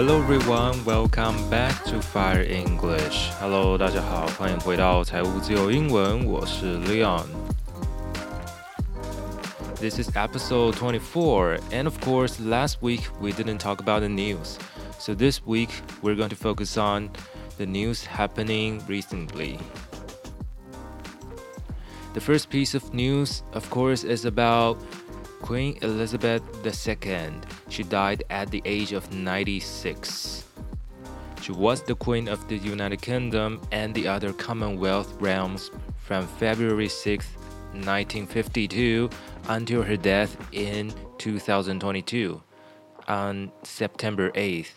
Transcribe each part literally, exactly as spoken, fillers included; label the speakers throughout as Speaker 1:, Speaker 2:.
Speaker 1: Hello everyone, welcome back to Fire English. Hello, 大家好，歡迎回到財務自由英文，我是 Leon. This is episode twenty-four, and of course, last week we didn't talk about the news. So this week we're going to focus on the news happening recently. The first piece of news, of course, is about Queen Elizabeth the Second. She died at the age of ninety-six. She was the Queen of the United Kingdom and the other Commonwealth realms from February sixth, nineteen fifty-two until her death in two thousand twenty-two on September eighth.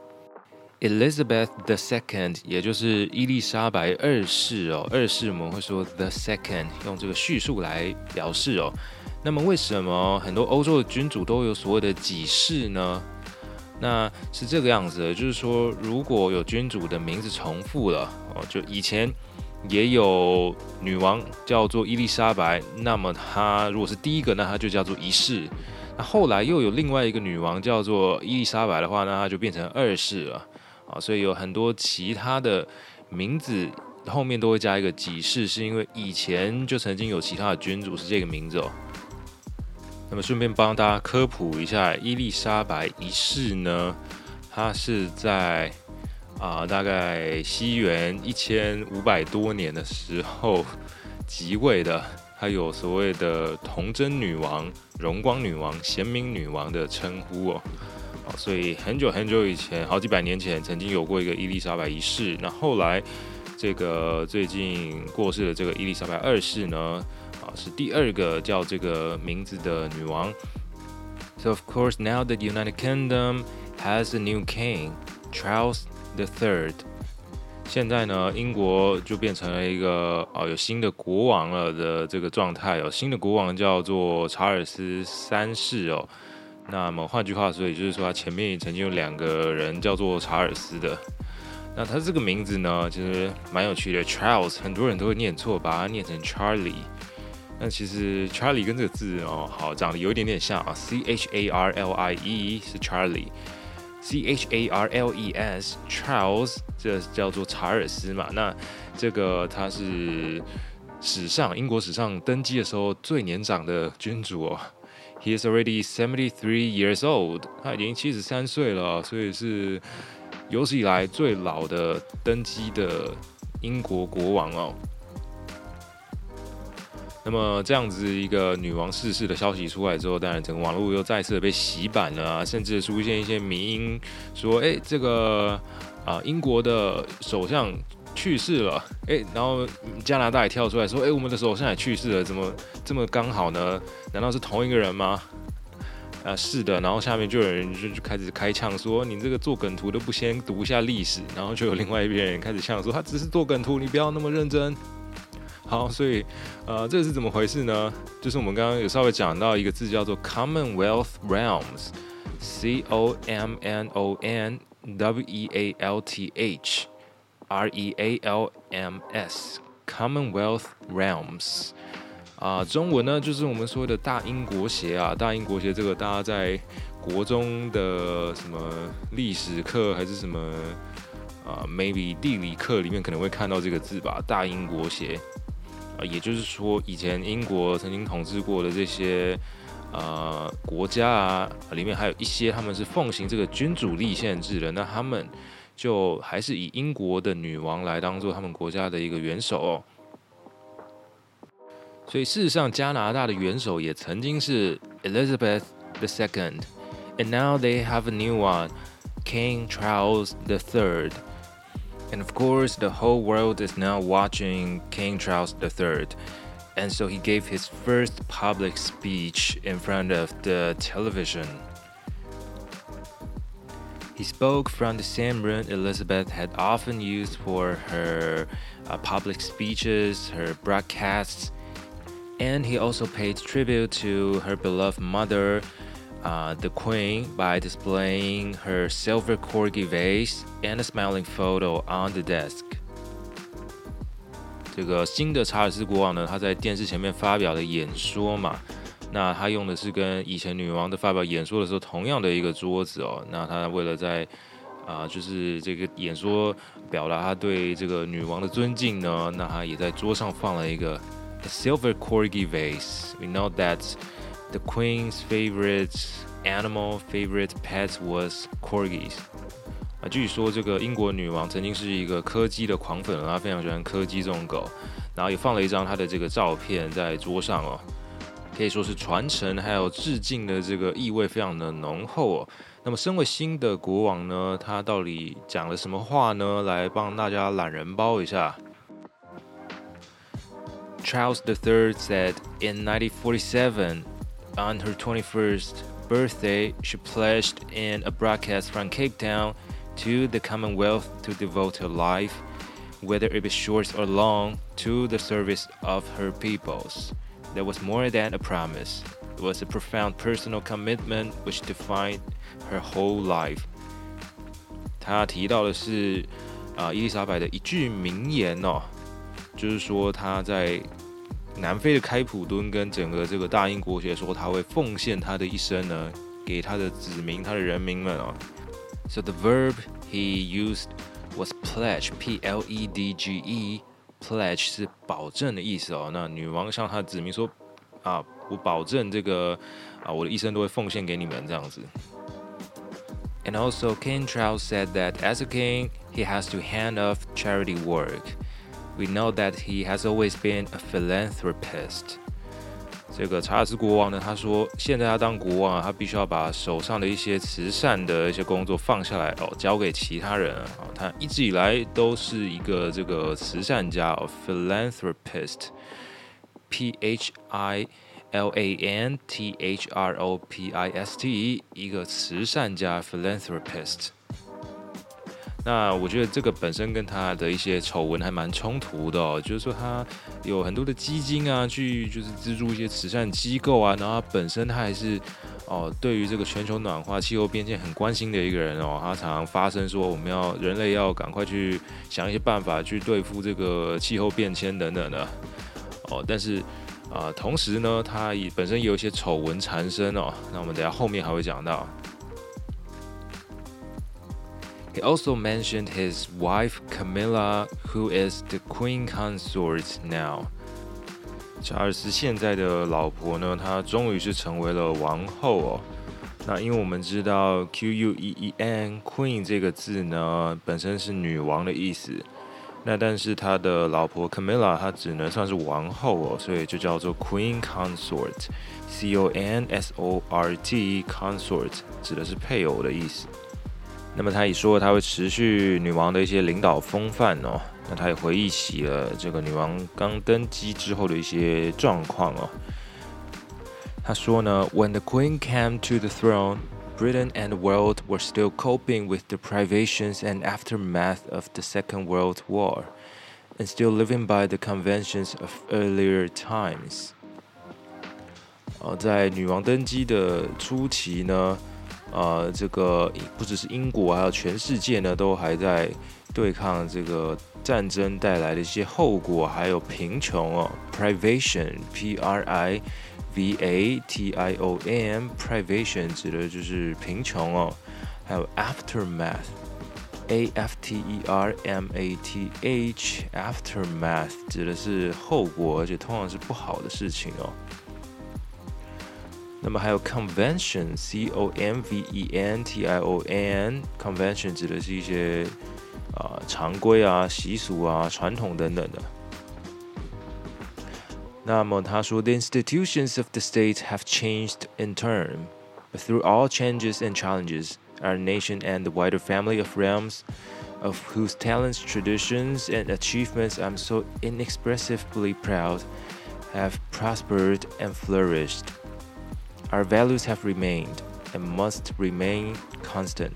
Speaker 1: Elizabeth the Second, 也就是伊麗莎白二世哦，二世我們會說 the second， 用這個敘述來表示哦。那麼為什麼很多歐洲的君主都有所謂的幾世呢？那是這個樣子的，就是說如果有君主的名字重複了哦，就以前也有女王叫做伊麗莎白，那麼她如果是第一個，那她就叫做一世。那後來又有另外一個女王叫做伊麗莎白的話，那她就變成二世了啊。所以有很多其他的名字後面都會加一個幾世，是因為以前就曾經有其他的君主是這個名字哦。那麼順便幫大家科普一下，伊麗莎白一世呢，她是在啊、呃、大概西元一千五百多年的時候即位的，她有所謂的童貞女王、榮光女王、賢明女王的稱呼哦。所以很久很久以前，好幾百年前，曾經有過一個伊麗莎白一世。那後來這個最近過世的這個伊麗莎白二世呢，是第二個叫這個名字的女王。So of course now the United Kingdom has a new king, Charles the Third. 現在呢，英國就變成了一個哦有新的國王了的這個狀態哦，新的國王叫做查爾斯三世哦。那麼換句話說，也就是說，他前面曾經有兩個人叫做查爾斯的。那他這個名字呢，其實蠻有趣的 ，Charles 很多人都會念錯，把它念成 Charlie。那其實 Charlie 跟這個字哦，好長得有一點點像啊 ，C H A R L I E 是 Charlie，C H A R L E S Charles 這叫做查爾斯嘛。那這個他是史上英國史上登基的時候最年長的君主哦。He is already seventy-three years old. 他已經七十三歲了，所以是有史以來最老的登基的英國國王哦。那麼這樣子一個女王逝世的消息出來之後，當然整個網絡又再次的被洗版了啊，甚至出現一些迷因說，哎，這個啊、呃、英國的首相去世了，哎，然後加拿大也跳出來說，哎，我們的首相也去世了，怎麼這麼剛好呢？難道是同一個人嗎？啊，是的，然後下面就有人就就開始開嗆說，你這個做梗圖都不先讀一下歷史，然後就有另外一邊人開始嗆說，他只是做梗圖，你不要那麼認真。好，所以呃，這是怎麼回事呢？就是我們剛剛有稍微講到一個字叫做 Commonwealth Realms，C O M N O N W E A L T H。R E A L M S Commonwealth Realms 啊、呃，中文呢就是我們說的大英國協啊，大英國協這個大家在國中的什麼歷史課還是什麼啊、呃、，maybe 地理課裡面可能會看到這個字吧，大英國協啊、呃，也就是說以前英國曾經統治過的這些呃國家啊，裡面還有一些他們是奉行這個君主立憲制的，那他們就還是以英國的女王來當做他們國家的一個元首哦，所以事實上加拿大的元首也曾經是 Elizabeth the Second, and now they have a new one, King Charles the Third. And of course, the whole world is now watching King Charles the Third. And so he gave his first public speech in front of the television.He spoke from the same room Elizabeth had often used for her uh, public speeches, her broadcasts, and he also paid tribute to her beloved mother, uh, the Queen, by displaying her silver corgi vase and a smiling photo on the desk. 這個新的查爾斯國王呢，他在電視前面發表的演說嘛。那他用的是跟以前女王的發表演說的時候同樣的一個桌子哦。那他為了在啊、呃，就是這個演說表達他對這個女王的尊敬呢，那他也在桌上放了一個 a silver corgi vase. We know that the Queen's favorite animal, favorite pet was corgis. 啊，據說這個英國女王曾經是一個柯基的狂粉，她非常喜歡柯基這種狗，然後也放了一張她的這個照片在桌上哦，可以說是傳承還有致敬的這個意味非常的濃厚哦。那麼身為新的國王呢，他到底講了什麼話呢？來幫大家懶人包一下。Charles the Third said in nineteen forty-seven, on her twenty-first birthday, she pledged in a broadcast from Cape Town to the Commonwealth to devote her life, whether it be short or long, to the service of her peoples. That was more than a promise. It was a profound personal commitment which defined her whole life. 她提到的是啊、呃，伊麗莎白的一句名言哦，就是說她在南非的開普敦跟整個這個大英國協說，她會奉獻她的一生呢，給她的子民、她的人民們哦。So the verb he used was pledge, P L E D G E. Pledge 是保證的意思哦。那女王向她的子民說啊，我保證這個啊，我的一生都會奉獻給你們這樣子。And also, King Charles said that as a king, he has to hand off charity work. We know that he has always been a philanthropist. 這個查爾斯國王呢，他說，現在他當國王啊，他必須要把手上的一些慈善的一些工作放下來哦，交給其他人啊。他一直以來都是一個這個慈善家哦 ，philanthropist，P H I L A N T H R O P I S T， 一個慈善家 philanthropist。那我覺得這個本身跟他的一些醜聞還蠻衝突的哦，就是說他有很多的基金啊，去就是資助一些慈善機構啊，然後他本身他還是哦對於這個全球暖化、氣候變遷很關心的一個人哦，他常常發聲說我們要人類要趕快去想一些辦法去對付這個氣候變遷等等的哦，但是啊、呃，同時呢，他也本身也有一些醜聞纏身哦，那我們等一下後面還會講到。He also mentioned his wife Camilla, who is the Queen Consort now. 查爾斯現在的老婆呢，她終於是成為了王後哦。那因為我們知道 Q U E E N Queen 這個字呢，本身是女王的意思。那但是他的老婆 Camilla 她只能算是王後哦，所以就叫做 Queen Consort, C O N S O R T Consort 指的是配偶的意思。那麼他也說他會持續女王的一些領導風範哦。那他也回憶起了這個女王剛登基之後的一些狀況哦。他說呢 ，When the Queen came to the throne, Britain and the world were still coping with the privations and aftermath of the Second World War, and still living by the conventions of earlier times. 呃，在女王登基的初期呢。呃，這個不只是英國，還有全世界呢，都還在對抗這個戰爭帶來的一些後果，還有貧窮哦。Privation, P R I V A T I O N, privation 指的就是貧窮哦。還有 aftermath, A F T E R M A T H, aftermath 指的是後果，而且通常是不好的事情哦。那麼還有 convention, C O M V E N T I O N, convention 指的是一些、呃、常規啊、習俗啊、傳統等等的。那麼他說 The institutions of the state have changed in turn, but through all changes and challenges, our nation and the wider family of realms, of whose talents, traditions, and achievements I'm so inexpressibly proud, have prospered and flourished.Our values have remained and must remain constant.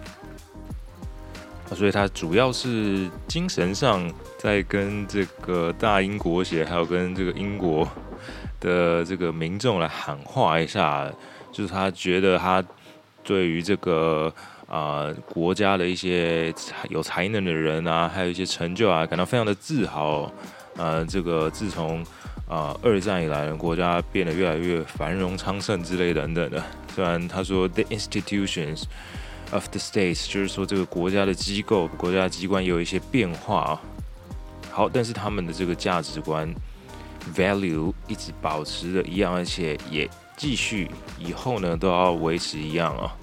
Speaker 1: 所以他主要是精神上在跟這個大英國協，還有跟這個英國的這個民眾來喊話一下，就是他覺得他對於這個啊、呃、國家的一些有才能的人啊，還有一些成就啊，感到非常的自豪。呃，這個自從啊、呃，二戰以來，國家變得越來越繁榮昌盛之類等等的。雖然他說 the institutions， of the states， 就是說這個國家的機構、國家的機關也有一些變化啊。好，但是他們的這個價值觀 value 一直保持的一樣，而且也繼續以後呢都要維持一樣啊。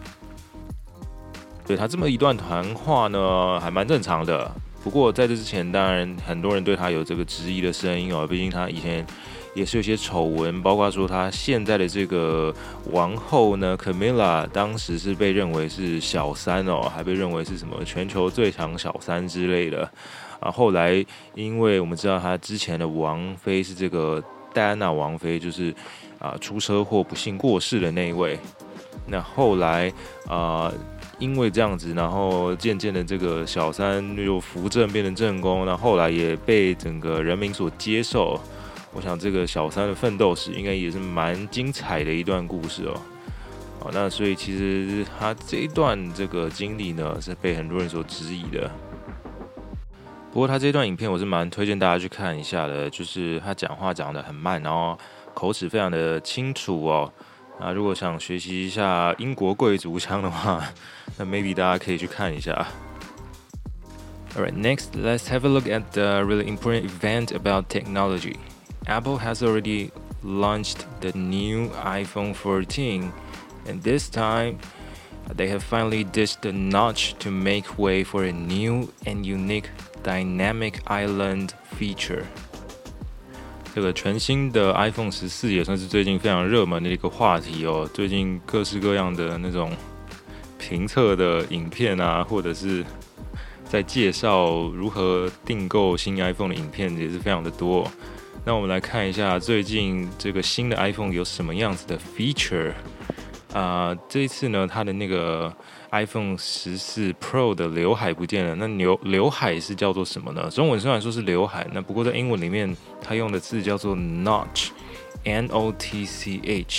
Speaker 1: 對，他這麼一段談話呢，還蠻正常的。不過在這之前，當然很多人對他有這個質疑的聲音哦，畢竟他以前也是有些醜聞，包括說他現在的這個王後呢 Camilla 當時是被認為是小三哦，還被認為是什麼全球最強小三之類的啊。後來因為我們知道他之前的王妃是這個戴安娜王妃，就是啊出車禍不幸過世的那一位。那後來啊。因為這樣子，然後漸漸的這個小三又扶正變成正宮，那後來也被整個人民所接受。我想這個小三的奮鬥史應該也是蠻精彩的一段故事哦。好，那所以其實他這一段這個經歷呢，是被很多人所質疑的。不過他這段影片我是蠻推薦大家去看一下的，就是他講話講得很慢，然後口齒非常的清楚哦。啊，如果想學習一下英國貴族腔的話，那 maybe 大家可以去看一下。Alright, next, let's have a look at the really important event about technology. Apple has already launched the new iPhone fourteen, and this time, they have finally ditched the notch to make way for a new and unique dynamic island feature. 這個全新的 iPhone 十四也算是最近非常熱門的一個話題哦。最近各式各樣的那種評測的影片啊，或者是在介紹如何訂購新 iPhone 的影片也是非常的多。那我們來看一下最近這個新的 iPhone 有什麼樣子的 feature 啊、呃？這一次呢，它的那個 iPhone 十四 Pro 的劉海不見了。那劉劉海是叫做什麼呢？中文雖然說是劉海，那不過在英文裡面，它用的字叫做 notch，N O T C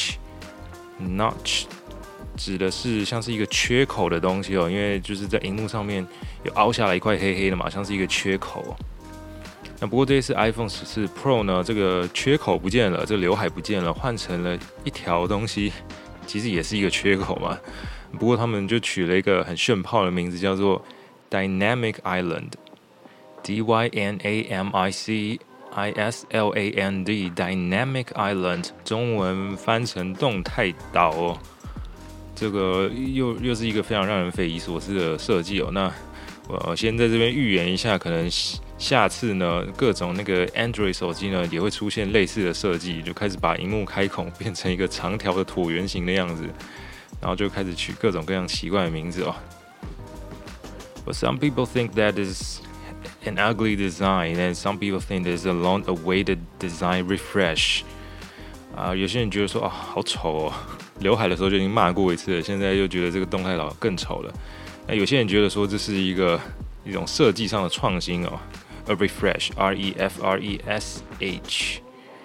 Speaker 1: H，notch 指的是像是一個缺口的東西哦，因為就是在熒幕上面有凹下來一塊黑黑的嘛，像是一個缺口。那不過這一次 iPhone 十四 Pro 呢，這個缺口不見了，這個劉海不見了，換成了一條東西，其實也是一個缺口嘛。不過他們就取了一個很炫炮的名字，叫做 Dynamic Island，D Y N A M I C I S L A N D Dynamic Island， 中文翻成動態島哦。這個又又是一個非常讓人匪夷所思的設計哦。那我先在這邊預言一下，可能下次呢，各種那個 Android 手機呢也會出現類似的設計，就開始把螢幕開孔變成一個長條的橢圓形的樣子。然後就開始取各種各樣奇怪的名字哦。But some people think that is an ugly design, and some people think there's a long-awaited design refresh. 啊、呃，有些人覺得說啊，好醜哦，劉海的時候就已經罵過一次了，現在又覺得這個動態島更醜了。那有些人覺得說這是一個一種設計上的創新哦 ，a refresh, R E F R E S H。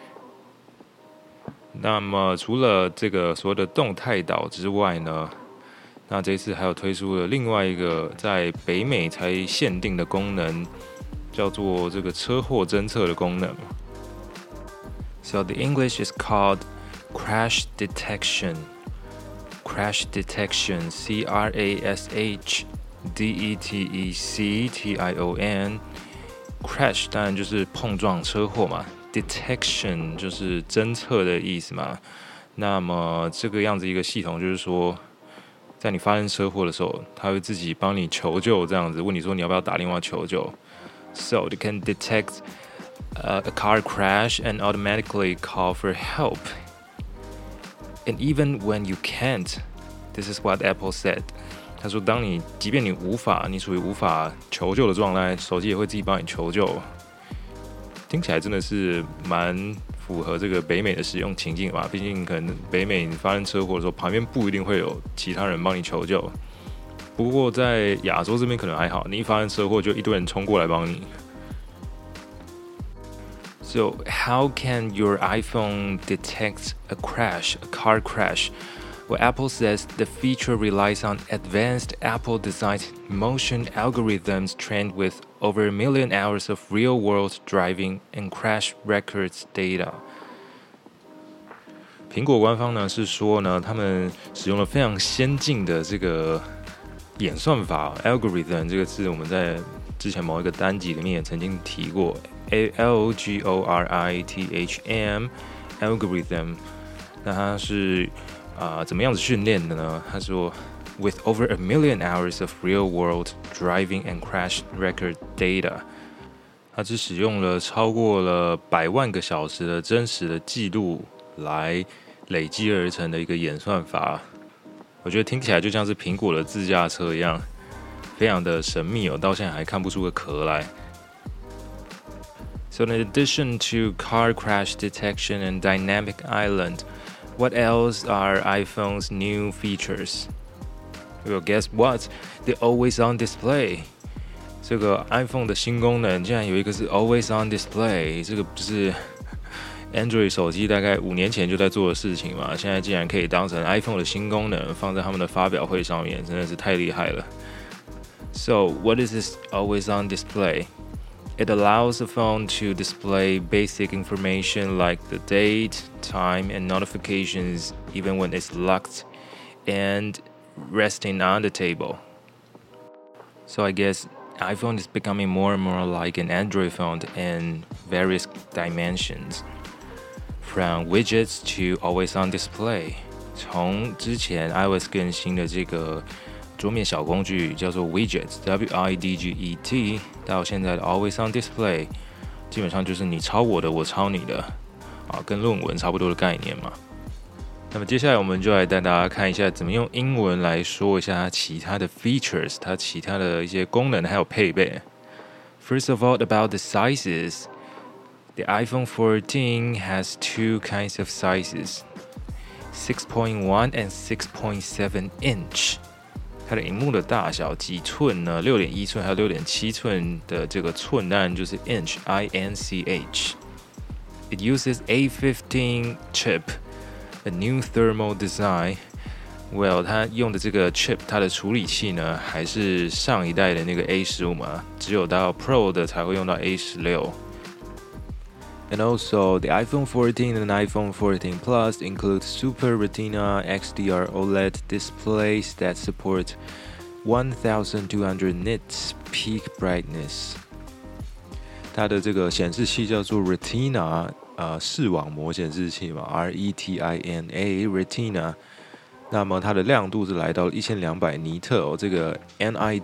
Speaker 1: 那麼除了這個所謂的動態島之外呢，那這一次還有推出了另外一個在北美才限定的功能，叫做這個車禍偵測的功能。So the English is called crash detection. Crash detection, C R A S H D E T E C T I O N. Crash 當然就是碰撞車禍嘛。Detection 就是偵測的意思嘛，那麼這個樣子一個系統就是說，在你發生車禍的時候，它會自己幫你求救，這樣子問你說你要不要打電話求救。So it can detect uh, a car crash and automatically call for help. And even when you can't, this is what Apple said. 他說，當你即便你無法，你屬於無法求救的狀態，手機也會自己幫你求救。聽起來真的是蠻符合這個北美的使用情境吧，畢竟可能北美你發生車禍的時候，旁邊不一定會有其他人幫你求救。不過在亞洲這邊可能還好，你一發生車禍就一堆人衝過來幫你。So how can your iPhone detect a crash, a car crash? Well, Apple says the feature relies on advanced Apple-designed motion algorithms trained with over a million hours of real-world driving and crash records data. 蘋果官方呢是說呢，他們使用了非常先進的這個演算法 algorithm 這個字，我們在之前某一個單集裡面也曾經提過 ，A L G O R I T H M algorithm。那它是啊、呃、怎麼樣子訓練的呢？他說 ，with over a million hours of real-world driving and crash record data， 它是使用了超過了百萬個小時的真實的記錄來累積而成的一個演算法。我覺得聽起來就像是蘋果的自駕車一樣，非常的神秘哦，到現在還看不出個殼來。So in addition to car crash detection and dynamic island, what else are iPhone's new features? Well, guess what? The always on display. 這個 iPhone 的新功能竟然有一個是 always on display， 這個不是 Android 手機大概五年前就在做的事情嘛，現在竟然可以當成 iPhone 的新功能放在他們的發表會上面，真的是太厲害了。So what is this always on display? It allows the phone to display basic information like the date, time, and notifications even when it's locked and resting on the table. So I guess iPhone is becoming more and more like an Android phone in various dimensions.From widgets to always on display， 從之前 iOS 更新的這個桌面小工具叫做 widgets W I D G E T 到現在的 always on display， 基本上就是你抄我的，我抄你的，啊，跟論文差不多的概念嘛。那麼接下來我們就來帶大家看一下怎麼用英文來說一下它其他的 features， 它其他的一些功能還有配備。First of all, about the sizes.The iPhone fourteen has two kinds of sizes, six point one and six point seven inch. 它的螢幕的大小幾寸呢？六點一寸還有六點七寸的這個寸，當然就是 inch, I N C H. It uses A fifteen chip, a new thermal design. Well, 它用的這個 chip， 它的處理器呢，還是上一代的那個 A 十五嘛，只有到 Pro 的才會用到 A 十六。And also, the iPhone fourteen and iPhone fourteen Plus include Super Retina X D R OLED displays that support twelve hundred nits peak brightness. 它的這個顯示器叫做 Retina， 呃，視網膜顯示器嘛 ，R E T I N A Retina。那麼它的亮度是來到一千兩百尼特哦，這個 N I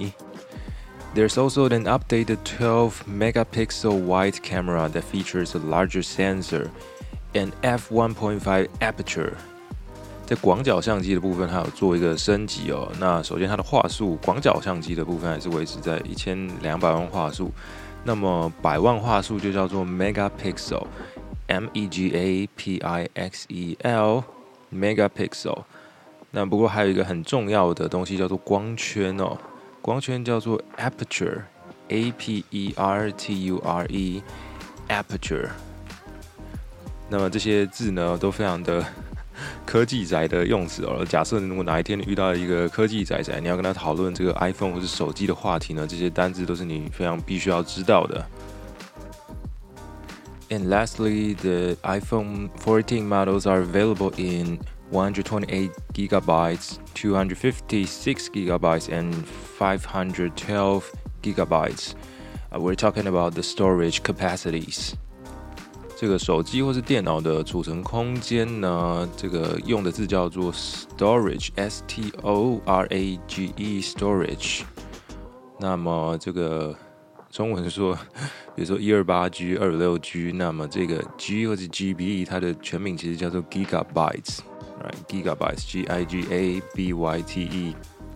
Speaker 1: T。There's also an updated twelve megapixel wide camera that features a larger sensor and f one point five aperture. 在廣角相機的部分，它有做一個升級哦。那首先它的畫素，廣角相機的部分還是維持在一千兩百萬畫素。那麼百萬畫素就叫做 megapixel，M E G A P I X E L megapixel。那不過還有一個很重要的東西叫做光圈哦。光圈叫做 aperture, A P E R T U R E, aperture。那麼這些字呢，都非常的科技宅的用詞哦。假設如果哪一天你遇到一個科技宅宅，你要跟他討論這個 iPhone 或是手機的話題呢，這些單字都是你非常必須要知道的。And lastly, the iPhone fourteen models are available in one hundred twenty-eight gigabytes, two hundred fifty-six gigabytes, and five hundred twelve gigabytes. Uh, we're talking about the storage capacities. 這個手機或是電腦的儲存空間呢，這個用的字叫做 storage, S T O R A G E, storage. 那麼這個中文說，比如說一二八 G、二五六 G， 那麼這個 G 或是 G B， 它的全名其實叫做 gigabytes。Right, gigabytes, G I G A B Y T E.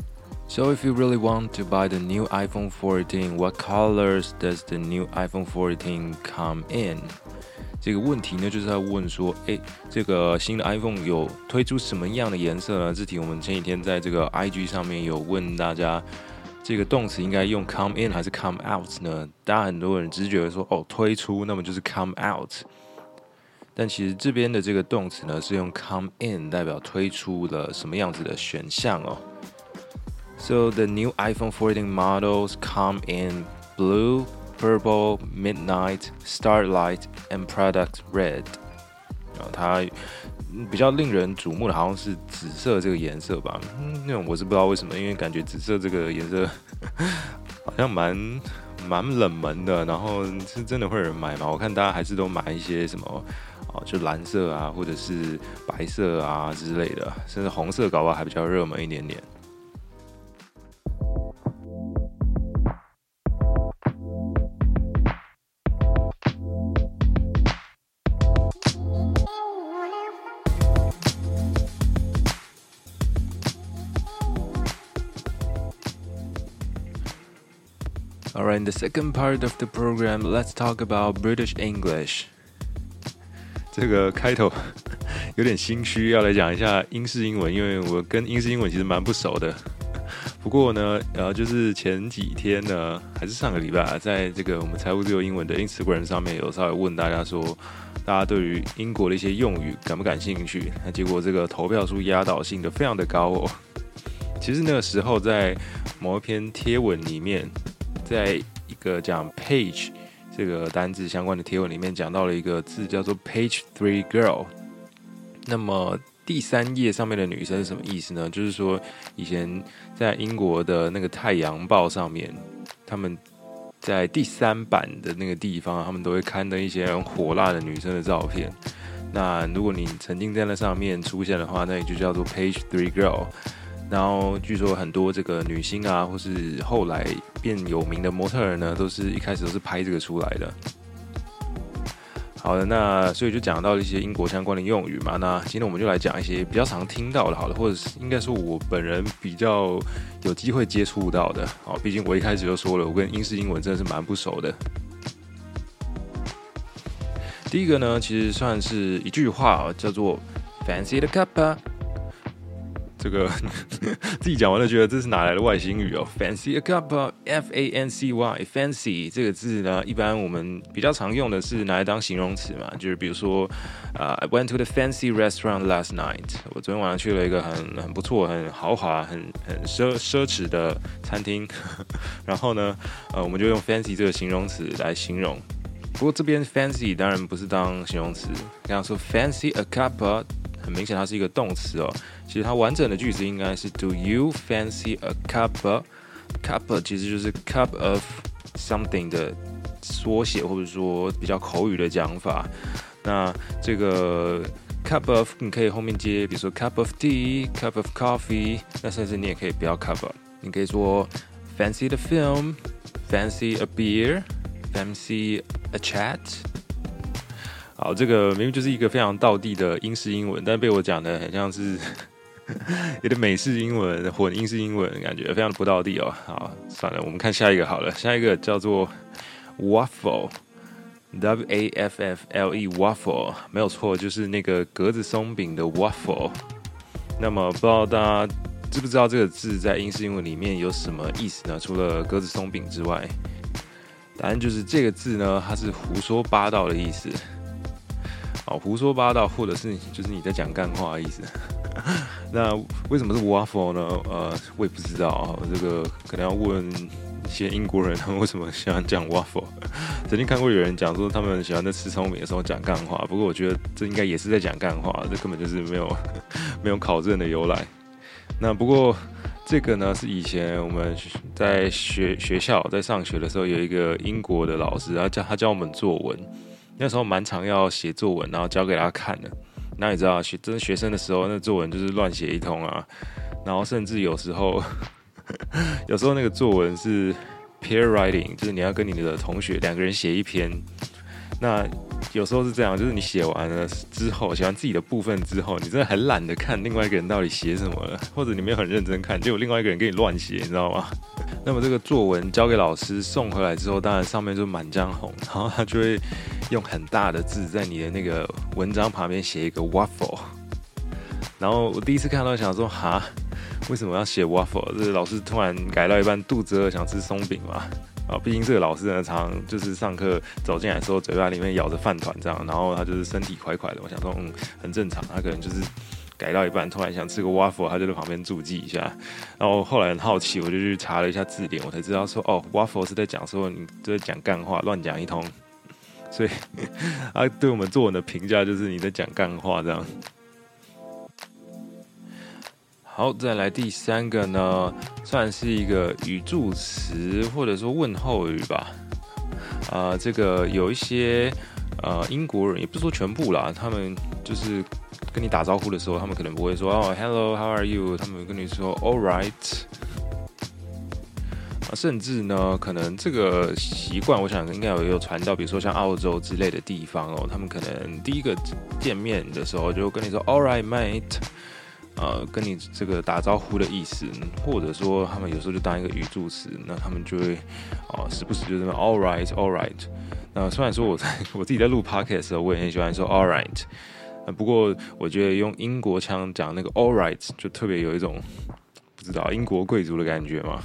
Speaker 1: So if you really want to buy the new iPhone fourteen, what colors does the new iPhone fourteen come in? 這個問題呢，就是在問說，哎，這個新的 iPhone 有推出什麼樣的顏色呢？這題我們前幾天在這個 I G 上面有問大家，這個動詞應該用 come in 還是 come out 呢？大家很多人只是覺得說，哦，推出，那麼就是 come out。但其實這邊的這個動詞呢，是用 come in 代表推出了什麼樣子的選項哦。So the new iPhone fourteen models come in blue, purple, midnight, starlight, and product red. 它比較令人矚目的，好像是紫色這個顏色吧。嗯，那種我是不知道為什麼，因為感覺紫色這個顏色好像蠻蠻冷門的。然後是真的會有人買嗎？我看大家還是都買一些什麼哦，就藍色啊，或者是白色啊之類的，甚至紅色搞不好還比較熱門一點點。Alright, in the second part of the program, let's talk about British English. 這個開頭有點心虛，要來講一下英式英文，因為我跟英式英文其實蠻不熟的。不過呢，呃，就是前幾天呢，還是上個禮拜，在這個我們財務自由英文的 Instagram 上面有稍微問大家說，大家對於英國的一些用語感不感興趣？那結果這個投票數壓倒性的非常的高哦。其實那個時候在某一篇貼文裡面，在一個講 page 這個單字相關的貼文裡面講到了一個字叫做 page three girl。那麼第三頁上面的女生是什麼意思呢？就是說以前在英國的那個太陽報上面，他們在第三版的那個地方，他們都會刊登一些很火辣的女生的照片。那如果你曾經在那上面出現的話，那也就叫做 page three girl。然後據說很多這個女星啊，或是後來變有名的模特兒呢，都是一開始都是拍這個出來的。好的，那所以就講到一些英國相關的用語嘛。那今天我們就來講一些比較常聽到的，好的，或者是應該說我本人比較有機會接觸到的。好，畢竟我一開始就說了，我跟英式英文真的是蠻不熟的。第一個呢，其實算是一句話，叫做 Fancy the cuppa。這個自己講完了，覺得這是哪來的外星語哦 ？Fancy a cuppa, F A N C Y，fancy 這個字呢，一般我們比較常用的是拿來當形容詞嘛，就是比如說，呃、uh, ，I went to the fancy restaurant last night。我昨天晚上去了一個很很不錯、很豪華、很很奢奢侈的餐廳。然後呢，呃，我們就用 fancy 這個形容詞來形容。不過這邊 fancy 當然不是當形容詞，剛剛說 fancy a cuppa。很明顯，它是一個動詞哦。其實它完整的句子應該是 Do you fancy a cuppa? Cuppa 其實就是 cup of something 的縮寫，或者說比較口語的講法。那這個 cup of 你可以後面接，比如說 cup of tea, cup of coffee。那甚至你也可以不要 cup up， 你可以說 fancy the film, fancy a beer, fancy a chat。好，這個明明就是一個非常道地的英式英文，但被我講的很像是有點美式英文混英式英文，感覺非常的不道地哦。好，算了，我們看下一個好了。下一個叫做 waffle，W A F F L E waffle， 沒有錯，就是那個格子鬆餅的 waffle。那麼不知道大家知不知道這個字在英式英文裡面有什麼意思呢？除了格子鬆餅之外，答案就是這個字呢，它是胡說八道的意思。好，胡說八道，或者是就是你在講幹話的意思。那為什麼是 waffle 呢？呃，我也不知道，這個可能要問一些英國人，他們為什麼喜歡講 waffle。曾經看過有人講說，他們喜歡在吃鬆餅的時候講幹話，不過我覺得這應該也是在講幹話，這根本就是沒有沒有考證的由來。那不過這個呢，是以前我們在學學校在上學的時候，有一個英國的老師，他教他教我們作文。那時候蠻常要寫作文，然後交給他看的。那你知道，學真學生的時候，那作文就是亂寫一通啊。然後甚至有時候，有時候那個作文是 peer writing，就是你要跟你的同學兩個人寫一篇。那有時候是這樣，就是你寫完了之後，寫完自己的部分之後，你真的很懶得看另外一個人到底寫什麼了，或者你沒有很認真看，結果另外一個人跟你亂寫，你知道嗎？那麼這個作文交給老師送回來之後，當然上面就滿張紅，然後他就會用很大的字在你的那個文章旁邊寫一個 waffle。然後我第一次看到想說，哈，為什麼要寫 waffle？ 這老師突然改到一半肚子餓想吃鬆餅嘛？啊，畢竟這個老師呢，常常就是上課走進來的時候，嘴巴裡面咬着飯糰這樣，然後他就是身體快快的。我想說，嗯，很正常，他可能就是改到一半，突然想吃個 waffle，他就在旁邊注記一下。然後後來很好奇，我就去查了一下字典，我才知道說，哦 ，waffle 是在講說你就在講幹話，亂講一通。所以他對我們作文的評價就是你在講幹話這樣。 好，再來第三個呢，算是一個語助詞或者說問候語吧。啊、呃，這個有一些呃英國人，也不是說全部啦，他們就是跟你打招呼的時候，他們可能不會說哦 ，Hello，How are you？ 他們會跟你說 All right。啊，甚至呢，可能這個習慣，我想應該有有傳到，比如說像澳洲之類的地方哦，他們可能第一個見面的時候就跟你說 All right, mate。呃，跟你這個打招呼的意思，或者說他們有時候就當一個語助詞，那他們就會哦、呃，時不時就這麼 all right, all right。那雖然說我在我自己在錄 podcast 的時候，我也很喜歡說 all right，呃，不過我覺得用英國腔講那個 all right 就特別有一種不知道英國貴族的感覺嘛。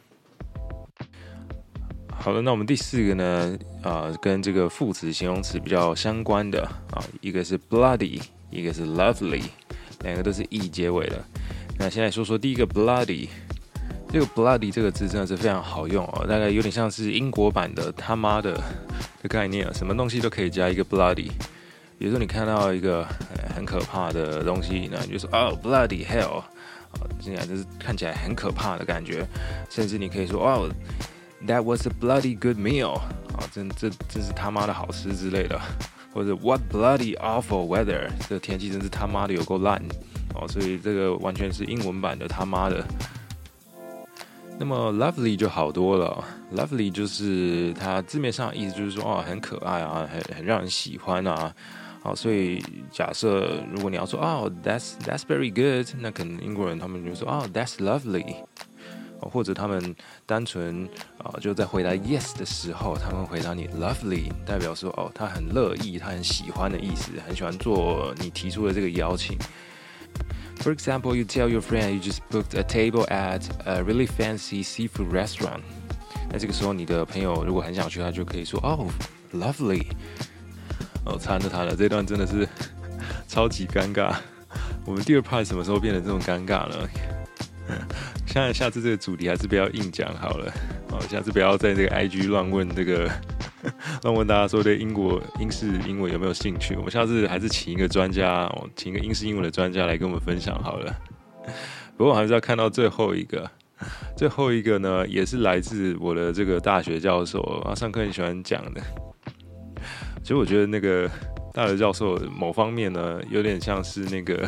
Speaker 1: 好了，那我們第四個呢，呃，跟這個副詞、形容詞比較相關的啊、呃，一個是 bloody， 一個是 lovely。兩個都是 e 結尾的。那先來說說第一個 bloody， 這個 bloody 這個字真的是非常好用哦，大概有點像是英國版的他媽的的概念啊，什麼東西都可以加一個 bloody。比如說你看到一個很可怕的東西，那你就說哦 bloody hell， 啊，這樣就是看起來很可怕的感覺。甚至你可以說哦 that was a bloody good meal， 啊，真這真是他媽的好吃之類的。或者 What bloody awful weather， 這個天氣真是他媽的有夠爛哦，所以這個完全是英文版的他媽的。那麼 lovely 就好多了 ，lovely 就是它字面上的意思就是說哦很可愛啊，很很讓人喜歡啊，好，所以假設如果你要說哦 that's that's very good， 那可能英國人他們就說哦 that's lovely。或者他們單純啊、呃、就在回答 yes 的時候，他們回答你 lovely， 代表說哦他很樂意，他很喜歡的意思，很喜歡做你提出的這個邀請。For example, you tell your friend you just booked a table at a really fancy seafood restaurant。那這個時候你的朋友如果很想去，他就可以說哦 lovely。哦，慘了慘了，這段真的是超級尷尬。我們第二 part 什麼時候變得這種尷尬了？現在下次這個主題還是不要硬講好了，好，下次不要在這個 I G 亂問這個亂問大家說對英國英式英文有沒有興趣。我們下次還是請一個專家，請一個英式英文的專家來跟我們分享好了。不過我還是要看到最後一個，最後一個呢也是來自我的這個大學教授，他上課很喜歡講的。其實我覺得那個大學教授某方面呢，有點像是那個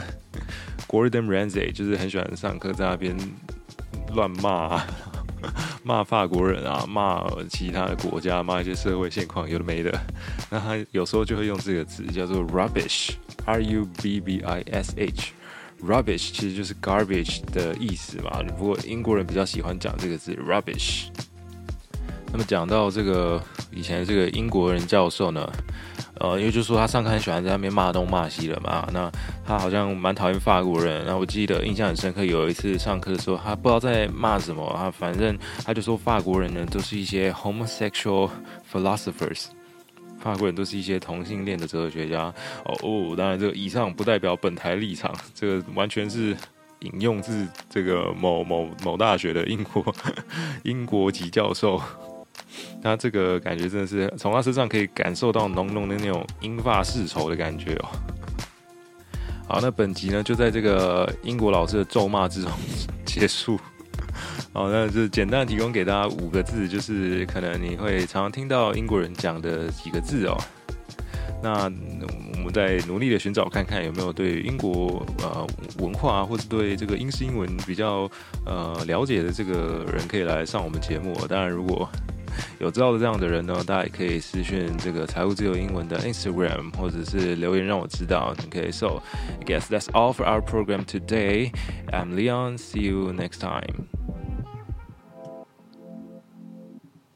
Speaker 1: Gordon Ramsay， 就是很喜歡上課在那邊亂罵，罵法國人啊，罵其他的國家，罵一些社會現況，有的沒的。那他有時候就會用這個詞叫做 rubbish，R U B B I S H。rubbish 其實就是 garbage 的意思嘛，不過英國人比較喜歡講這個字 rubbish。那麼講到這個以前這個英國人教授呢，呃，因為就是說他上課很喜歡在那邊罵東罵西的嘛，那他好像蠻討厭法國人。然後我記得印象很深刻，有一次上課的時候，他不知道在罵什麼，他反正他就說法國人呢都是一些 homosexual philosophers， 法國人都是一些同性戀的哲學家。哦哦，當然這個以上不代表本台立場，這個完全是引用自這個某某某大學的英國英國籍教授。他這個感覺真的是從他身上可以感受到濃濃的那種英法世仇的感覺哦。好，那本集呢就在這個英國老師的咒罵之中結束。好，那就簡單提供給大家五個字，就是可能你會常常聽到英國人講的幾個字哦。那我們再努力的尋找看看有沒有對英國呃文化或者對這個英式英文比較呃了解的這個人可以來上我們節目哦。當然，如果有知道的這樣的人呢，大家也可以私訊這個財務自由英文的 Instagram， 或者是留言讓我知道。Okay, so I guess that's all for our program today. I'm Leon. See you next time.